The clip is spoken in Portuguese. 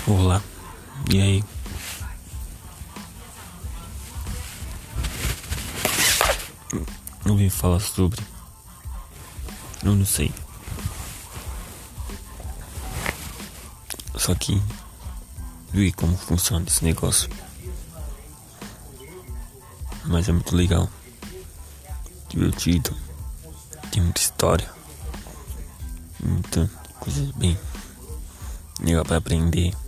Olá, e aí? Não vim falar sobre. Eu não sei. Só que vi como funciona esse negócio. Mas é muito legal, divertido, tem muita história, muita coisa bem legal pra aprender.